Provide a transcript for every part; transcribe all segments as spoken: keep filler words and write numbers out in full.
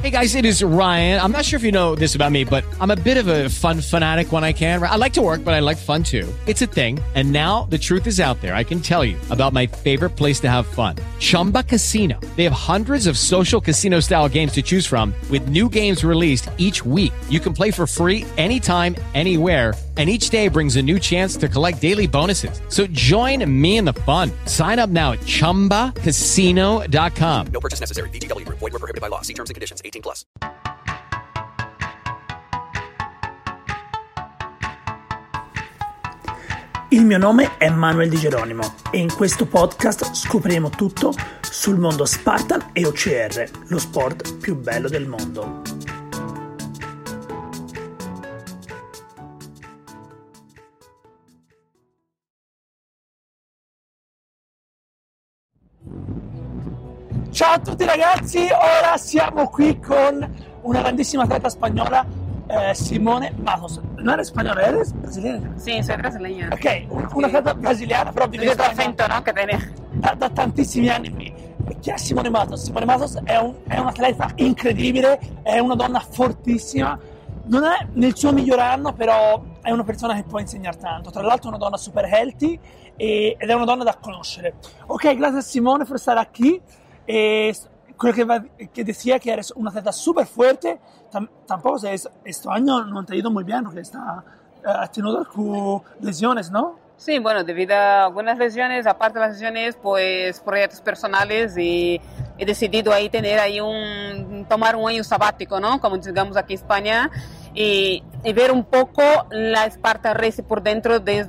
Hey guys, it is Ryan. I'm not sure if you know this about me, but I'm a bit of a fun fanatic when I can. I like to work, but I like fun too. It's a thing. And now the truth is out there. I can tell you about my favorite place to have fun. Chumba Casino. They have hundreds of social casino style games to choose from with new games released each week. You can play for free anytime, anywhere. And each day brings a new chance to collect daily bonuses. So join me in the fun. Sign up now at chumba casino dot com. No purchase necessary. V G W. Void where prohibited by law. See terms and conditions. eighteen plus. Il mio nome è Manuel Di Geronimo e in questo podcast scopriremo tutto sul mondo Spartan e O C R, lo sport più bello del mondo. Ciao a tutti ragazzi, ora siamo qui con una grandissima atleta spagnola, eh, Simone Matos. Non eres spagnola, eres brasiliana? Sí, soy brasileña. Ok, una atleta brasiliana, però vive in Questo Spagna accento, no? Che tiene. da, da tantissimi anni qui. E chi è Simone Matos? Simone Matos è, un, è un'atleta incredibile, è una donna fortissima, non è nel suo miglior anno, però è una persona che può insegnare tanto. Tra l'altro è una donna super healthy e, ed è una donna da conoscere. Ok, grazie a Simone per stare qui. E quello que, va, que decía que eres una atleta súper fuerte, tam, tampoco sé, este año no te ha ido muy bien porque está, uh, has tenido algunas lesiones, ¿no? Sí, bueno, debido a algunas lesiones, aparte de las lesiones, pues proyectos personales y he decidido ahí tener ahí un, tomar un año sabático, ¿no? Como digamos aquí en España y, y ver un poco la Spartan Race por dentro desde,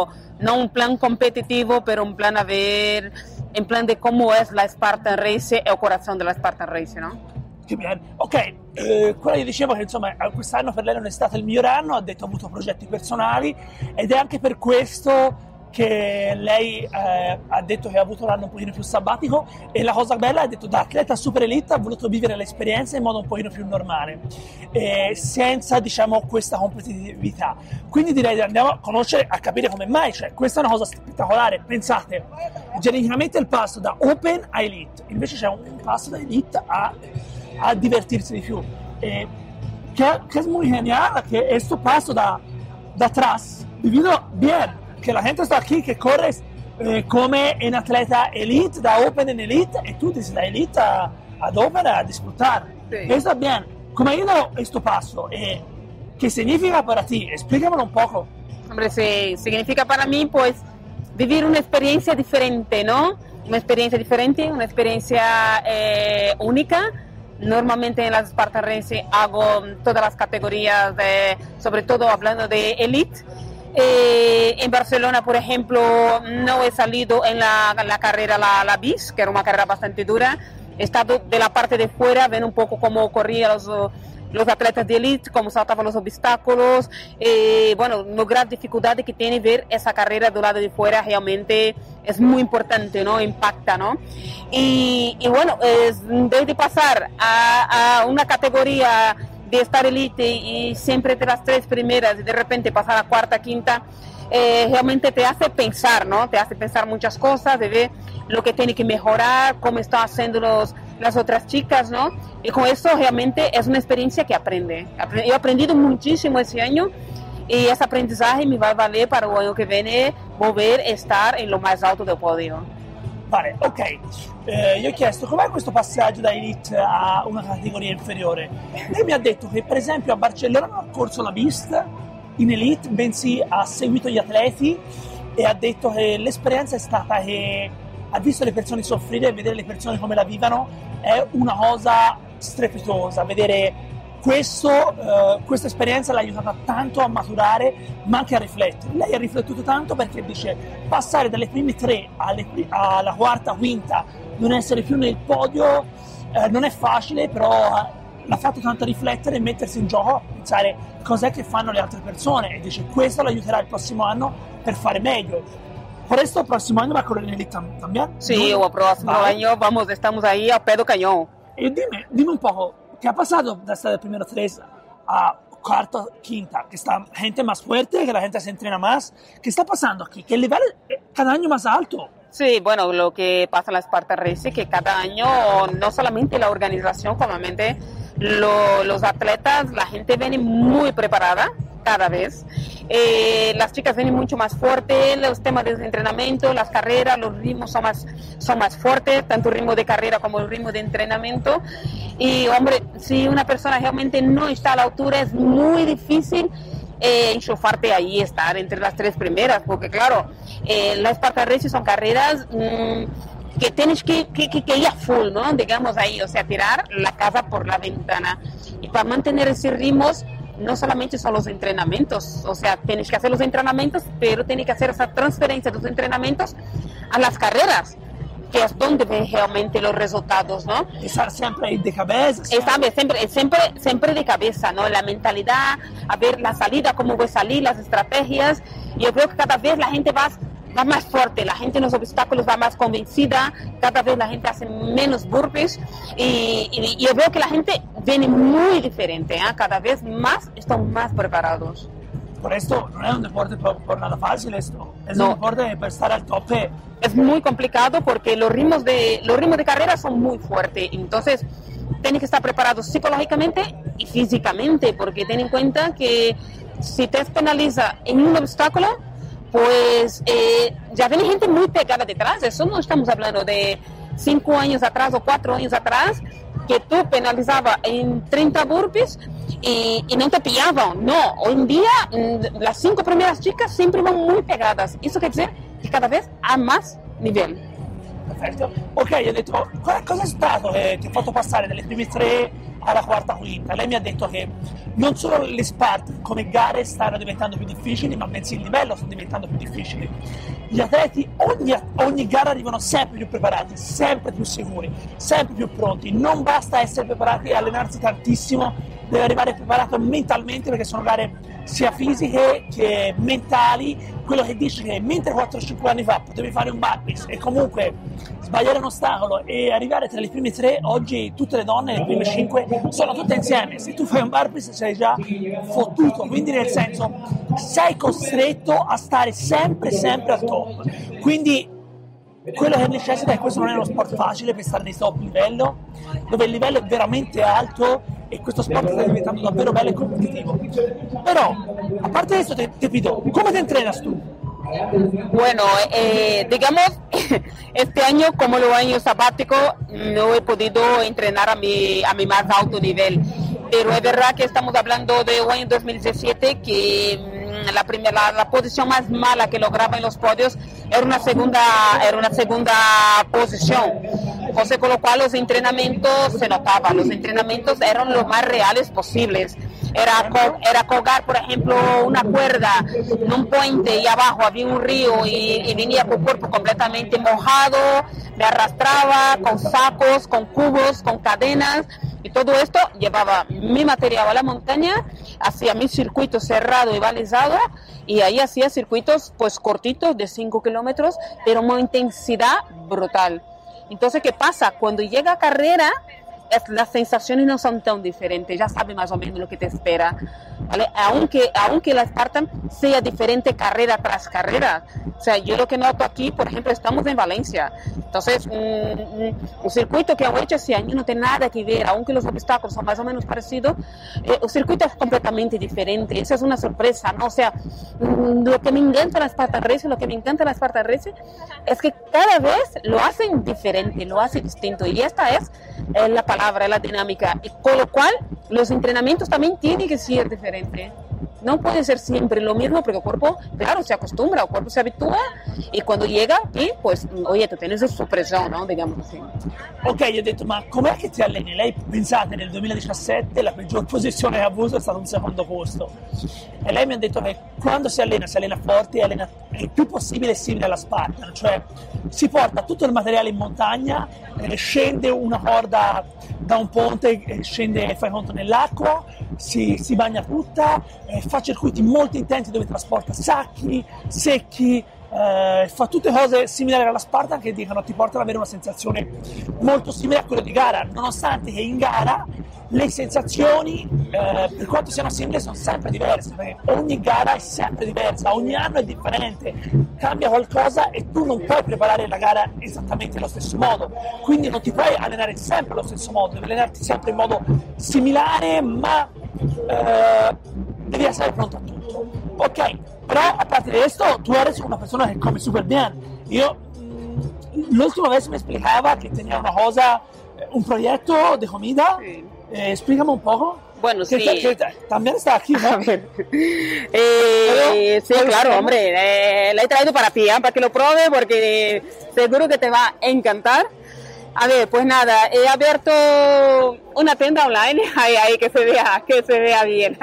no un plan competitivo, pero un plan a ver... in plan di come è la Spartan Race e il corazon della Spartan Race, no? Che bene. Ok, eh, quella gli dicevo che insomma quest'anno per lei non è stato il miglior anno, ha detto ha avuto progetti personali ed è anche per questo che lei eh, ha detto che ha avuto l'anno un pochino più sabbatico e la cosa bella ha detto da atleta super elite ha voluto vivere l'esperienza in modo un pochino più normale, eh, senza diciamo questa competitività. Quindi direi andiamo a conoscere, a capire come mai, cioè questa è una cosa spettacolare. Pensate, genericamente il passo da open a elite, invece c'è un passo da elite a, a divertirsi di più. Eh, que, que es muy genial que questo passo da, da atrás vivido bien, che la gente sta qui che corre eh, come un atleta elite, da open in elite, e tu sei da elite a, ad open a disfrutar. Sí. Eso está bien. ¿Cómo ha ido questo passo? Eh, ¿Qué significa para ti? Explícamelo un poco. Hombre, sí, significa para mí, pues, vivir una experiencia diferente, ¿no? Una experiencia diferente, una experiencia eh, única. Normalmente en las Spartan Race hago todas las categorías, de, sobre todo hablando de elite. Eh, en Barcelona, por ejemplo, no he salido en la, en la carrera la, la B I S, que era una carrera bastante dura. He estado de la parte de fuera, ven un poco cómo corrían los, los atletas de elite, cómo saltaban los obstáculos. Eh, bueno, la gran dificultad que tiene ver esa carrera del lado de fuera realmente es muy importante, ¿no? Impacta, ¿no? Y, y bueno, es, desde pasar a, a una categoría de estar elite y siempre de las tres primeras y de repente pasar a cuarta, quinta, eh, realmente te hace pensar, ¿no? Te hace pensar muchas cosas, de ver lo que tiene que mejorar, cómo están haciendo los, las otras chicas, ¿no? Y con eso realmente es una experiencia que aprende. Yo he aprendido muchísimo ese año y ese aprendizaje me va a valer para el año que viene volver a estar en lo más alto del podio. Vale, ok. Eh, io ho chiesto com'è questo passaggio da elite a una categoria inferiore. Lei mi ha detto che per esempio a Barcellona non ha corso la B I S in elite, bensì ha seguito gli atleti e ha detto che l'esperienza è stata che ha visto le persone soffrire e vedere le persone come la vivano è una cosa strepitosa. Vedere questo, uh, questa esperienza l'ha aiutata tanto a maturare ma anche a riflettere. Lei ha riflettuto tanto perché dice passare dalle prime tre alle, alla quarta, quinta, non essere più nel podio eh, non è facile, però l'ha fatto tanto riflettere e mettersi in gioco, pensare cos'è che fanno le altre persone e dice questo l'aiuterà il prossimo anno per fare meglio. Por esto el próximo año va a correr en elite también. Sí, el próximo vale. año vamos, estamos ahí a pedo cañón. Y dime, dime un poco, ¿qué ha pasado de estar del primero tres a cuarto, quinta? Que está gente más fuerte, que la gente se entrena más. ¿Qué está pasando aquí? Que el nivel es cada año más alto. Sí, bueno, lo que pasa en la Spartan Race es que cada año no solamente la organización, comúnmente lo, los atletas, la gente viene muy preparada cada vez. Eh, las chicas vienen mucho más fuertes, los temas de entrenamiento, las carreras, los ritmos son más, son más fuertes, tanto el ritmo de carrera como el ritmo de entrenamiento. Y hombre, si una persona realmente no está a la altura, es muy difícil eh, enchufarte ahí, estar entre las tres primeras, porque claro, eh, las Spartan Race son carreras mmm, que tienes que, que, que, que ir a full, ¿no? Digamos ahí, o sea, tirar la casa por la ventana. Y para mantener esos ritmos, no solamente son los entrenamientos, o sea, tienes que hacer los entrenamientos, pero tienes que hacer esa transferencia de los entrenamientos a las carreras, que es donde ven realmente los resultados, ¿no? Estar siempre de cabeza. Siempre, siempre, siempre, siempre de cabeza, ¿no? La mentalidad, a ver la salida, cómo voy a salir, las estrategias. Y yo creo que cada vez la gente va, va más fuerte, la gente en los obstáculos va más convencida, cada vez la gente hace menos burpees y, y, y yo veo que la gente viene muy diferente, ¿eh? Cada vez más están más preparados. Por esto no es un deporte por, por nada fácil esto, es No. un deporte para estar al tope. Es muy complicado porque los ritmos de, los ritmos de carrera son muy fuertes, entonces tienes que estar preparado psicológicamente y físicamente, porque ten en cuenta que si te penaliza en un obstáculo, pues eh, ya viene gente muy pegada detrás. Eso no estamos hablando de cinco años atrás o cuatro años atrás, que tú penalizabas en treinta burpees y, y no te pillaban. No, hoy en día mm, las cinco primeras chicas siempre van muy pegadas. Eso quiere decir que cada vez hay más nivel. Perfetto. Ok, io ho detto, cosa è stato che ti ha fatto passare dalle prime tre alla quarta quinta? Lei mi ha detto che non solo le Spartan come gare stanno diventando più difficili, ma bensì il livello sta diventando più difficile. Gli atleti ogni, ogni gara arrivano sempre più preparati, sempre più sicuri, sempre più pronti. Non basta essere preparati e allenarsi tantissimo, deve arrivare preparato mentalmente, perché sono gare sia fisiche che mentali. Quello che dice che mentre quattro cinque anni fa potevi fare un burpees e comunque sbagliare un ostacolo e arrivare tra le prime tre, oggi tutte le donne, le prime cinque, sono tutte insieme. Se tu fai un burpees sei già fottuto, quindi nel senso sei costretto a stare sempre sempre al top. Quindi quello che necessita è, questo non è uno sport facile per stare nei top livello, dove il livello è veramente alto e questo sport sta diventando davvero bello e competitivo. Pero, a parte eso, te, te pido, ¿cómo te entrenas tú? Bueno, eh, digamos, este año, como los años sabáticos, no he podido entrenar a mi, a mi más alto nivel. Pero es verdad que estamos hablando de un año dos mil diecisiete que la, primera, la, la posición más mala que lograba en los podios era una segunda, era una segunda posición. Entonces, con lo cual los entrenamientos se notaban, los entrenamientos eran lo más reales posibles. Era, era colgar, por ejemplo, una cuerda en un puente y abajo había un río y, y venía con el cuerpo completamente mojado, me arrastraba con sacos, con cubos, con cadenas. Y todo esto llevaba mi material a la montaña, hacía mi circuito cerrado y balizado, y ahí hacía circuitos pues cortitos de cinco kilómetros, pero una intensidad brutal. Entonces, ¿qué pasa? Cuando llega a carrera, es, las sensaciones no son tan diferentes, ya sabes más o menos lo que te espera, ¿vale? Aunque, aunque la Spartan sea diferente carrera tras carrera. O sea, yo lo que noto aquí, por ejemplo, estamos en Valencia, entonces un, un circuito que han hecho ese año no tiene nada que ver, aunque los obstáculos son más o menos parecidos, eh, el circuito es completamente diferente, esa es una sorpresa, ¿no? O sea, lo que me encanta la Spartan Race, lo que me encanta la Spartan Race es que cada vez lo hacen diferente, lo hacen distinto, y esta es eh, la palabra, la dinámica, y con lo cual los entrenamientos también tienen que ser diferentes. No puede ser siempre lo mismo, porque el cuerpo, claro, se acostumbra, el cuerpo se habitúa, y cuando llega aquí, pues, oye, tu tienes su presión, ¿no? Digamos así. Ok, gli ho detto, ma com'è che ti alleni? Lei, pensate, nel duemiladiciassette la peggior posizione che ha avuto è stato un secondo posto. E lei mi ha detto che quando si allena, si allena forte e allena il più possibile simile alla Spartan, cioè si porta tutto il materiale in montagna, eh, scende una corda da un ponte, eh, scende, fai conto, nell'acqua, si, si bagna tutta, eh, fa circuiti molto intensi dove trasporta sacchi, secchi, eh, fa tutte cose similari alla Spartan che dicono ti portano ad avere una sensazione molto simile a quella di gara, nonostante che in gara le sensazioni, eh, per quanto siano simili, sono sempre diverse, perché ogni gara è sempre diversa, ogni anno è differente, cambia qualcosa e tu non puoi preparare la gara esattamente allo stesso modo, quindi non ti puoi allenare sempre allo stesso modo, devi allenarti sempre in modo similare, ma eh, devi essere pronto a tutto. Ok, però a parte questo, tu eri una persona che come super bien. Io mh, l'ultima vez me explicaba que tenía una cosa, un proyecto de comida. Sí. Eh, explícame un poco. Bueno, que, sí. Que, que también está aquí, ¿no? A ver. Eh, sí, claro, hombre. Eh, la he traído para ti, ¿eh? Para que lo pruebes, porque seguro que te va a encantar. A ver, pues nada, he abierto una tienda online, ahí, ahí que se vea, que se vea bien.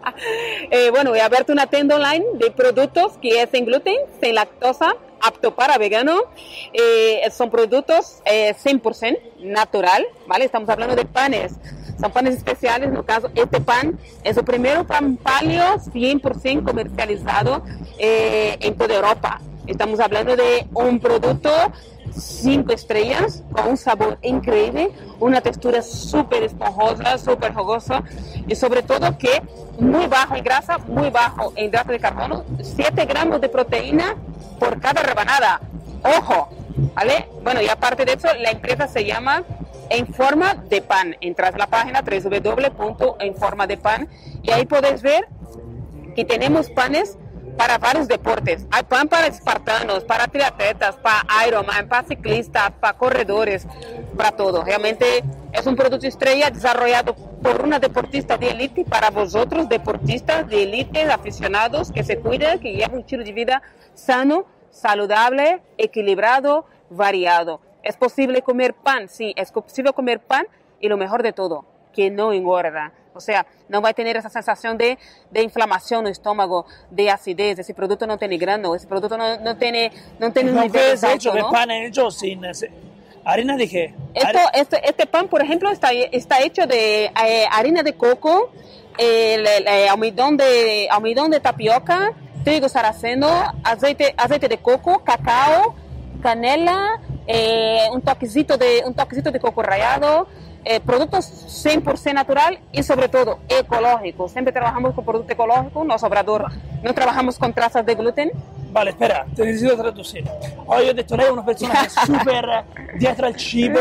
eh, bueno, he abierto una tienda online de productos que es sin gluten, sin lactosa, apto para vegano. Eh, son productos eh, cien por ciento natural, ¿vale? Estamos hablando de panes. Son panes especiales, en el caso, este pan es el primer pan paleo cien por ciento comercializado eh, en toda Europa. Estamos hablando de un producto cinco estrellas, con un sabor increíble, una textura súper esponjosa, súper jugosa y sobre todo que muy bajo en grasa, muy bajo en hidrato de carbono, siete gramos de proteína por cada rebanada. ¡Ojo! ¿Vale? Bueno, y aparte de eso, la empresa se llama En Forma de Pan. Entras a la página doble u doble u doble u punto en forma de pan y ahí podés ver que tenemos panes para varios deportes. Hay pan para espartanos, para triatletas, para Ironman, para ciclistas, para corredores, para todo. Realmente es un producto estrella desarrollado por una deportista de élite para vosotros, deportistas de élite, aficionados, que se cuidan, que llevan un estilo de vida sano, saludable, equilibrado, variado. ¿Es posible comer pan? Sí, es posible comer pan y lo mejor de todo, que no engorda. O sea, no va a tener esa sensación de, de inflamación en el estómago, de acidez. Ese producto no tiene grano, ese producto no, no tiene, no tiene un nivel hecho alto, de ¿no? pan hecho sin harina de qué? Esto, este, este pan, por ejemplo, está, está hecho de eh, harina de coco, eh, le, le, almidón de almidón de tapioca, trigo sarraceno, aceite, aceite de coco, cacao, canela, eh, un toquecito de un toquecito de coco rallado. Eh, productos cien por ciento natural y sobre todo ecológicos. Siempre trabajamos con producto ecológico, no sobrador, no trabajamos con trazas de gluten. Vale, espera, te necesito traducire. Oggi ho detto lei è una persona che è super dietro al cibo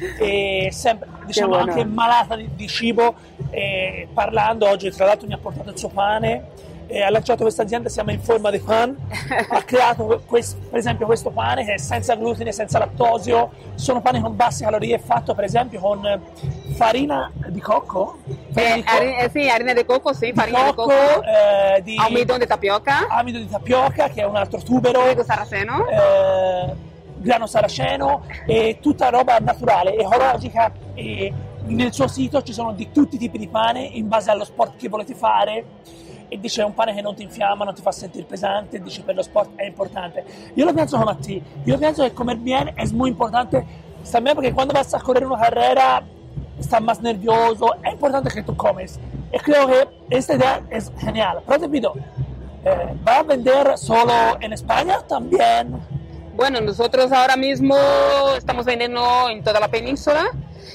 e sempre, diciamo, anche malata di, di cibo, e parlando oggi, tra l'altro mi ha portato il suo pane, e ha lanciato questa azienda, si chiama In Forma di Pan, ha creato questo, per esempio questo pane che è senza glutine, senza lattosio, sono pani con basse calorie, fatto per esempio con farina di cocco, farina eh, di co- harina, eh, sì, harina di cocco, sì, farina di cocco, cocco eh, di almidón di tapioca, amido di tapioca che è un altro tubero, trigo sarraceno, eh, grano saraceno e tutta roba naturale, ecologica, e nel suo sito ci sono di tutti i tipi di pane in base allo sport che volete fare. E dice è un pane che non ti infiamma, non ti fa sentire pesante, dice per lo sport è importante. Yo lo pienso como a ti, yo pienso que comer bien es muy importante también porque cuando vas a correr una carrera estás más nervioso, es importante que tú comes. Y creo que esta idea es genial. Pero te pido, eh, ¿va a vender solo en España también? Bueno, nosotros ahora mismo estamos vendiendo en toda la península.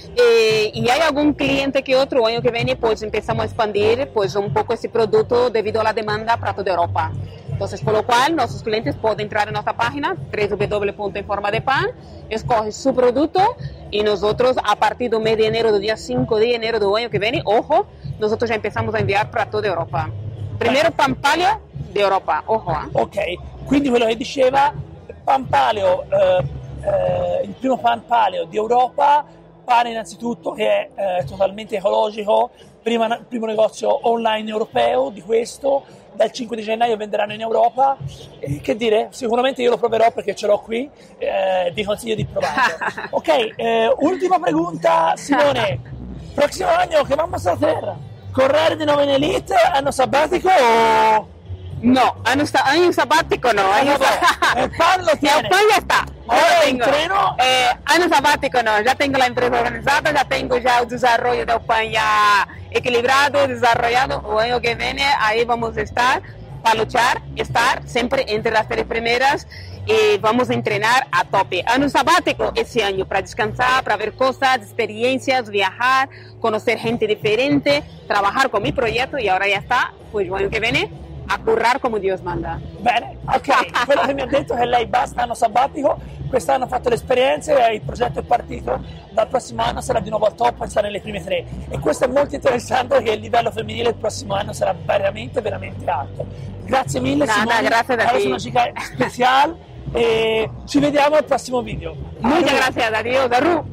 Eh, y hay algún cliente que otro año que viene pues empezamos a expandir pues un poco ese producto debido a la demanda para toda Europa. Entonces, por lo cual nuestros clientes pueden entrar en nuestra página doble u doble u doble u punto en forma de pan, escoge su producto y nosotros a partir del mes de enero, del día cinco de enero del año que viene, ojo, nosotros ya empezamos a enviar para toda Europa. Primero pan paleo de Europa, ojo. Eh. Ok, quindi quello che diceva, pan paleo, eh, eh, il primo pan paleo di Europa, pane innanzitutto che è eh, totalmente ecologico, prima, primo negozio online europeo di questo, dal cinque di gennaio venderanno in Europa, e che dire, sicuramente io lo proverò perché ce l'ho qui, eh, vi consiglio di provarlo. Ok, eh, ultima pregunta, Simone, prossimo anno che vamos a hacer? Correre di nuovo in Elite, anno sabbatico o...? No, año, año sabático no. Año no, el pan lo tiene. El pan ya está. Ahora entreno. Eh, año sabático no, ya tengo la empresa organizada, ya tengo ya el desarrollo del pan ya equilibrado, desarrollado. El año que viene ahí vamos a estar para luchar, estar siempre entre las tres primeras y vamos a entrenar a tope. Año sabático ese año para descansar, para ver cosas, experiencias, viajar, conocer gente diferente, trabajar con mi proyecto y ahora ya está, pues el año che viene a currar come Dio manda. Bene, ok, quello che mi ha detto è che lei basta anno sabbatico, quest'anno ha fatto le esperienze, il progetto è partito, dal prossimo anno sarà di nuovo al top e sarà nelle prime tre. E questo è molto interessante perché il livello femminile il prossimo anno sarà veramente, veramente alto. Grazie mille Nada, Simone, grazie da eres ti. una chica special e ci vediamo al prossimo video. Muchas gracias, adiós, Daru.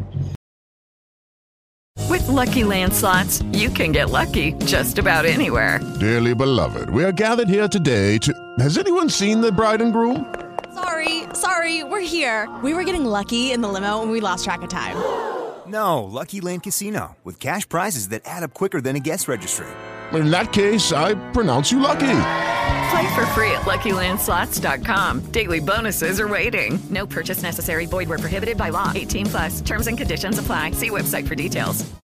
With Lucky Land Slots, you can get lucky just about anywhere. Dearly beloved, we are gathered here today to... Has anyone seen the bride and groom? Sorry, sorry, we're here. We were getting lucky in the limo and we lost track of time. No, Lucky Land Casino, with cash prizes that add up quicker than a guest registry. In that case, I pronounce you lucky. Play for free at Lucky Land Slots dot com. Daily bonuses are waiting. No purchase necessary. Void where prohibited by law. eighteen plus. Terms and conditions apply. See website for details.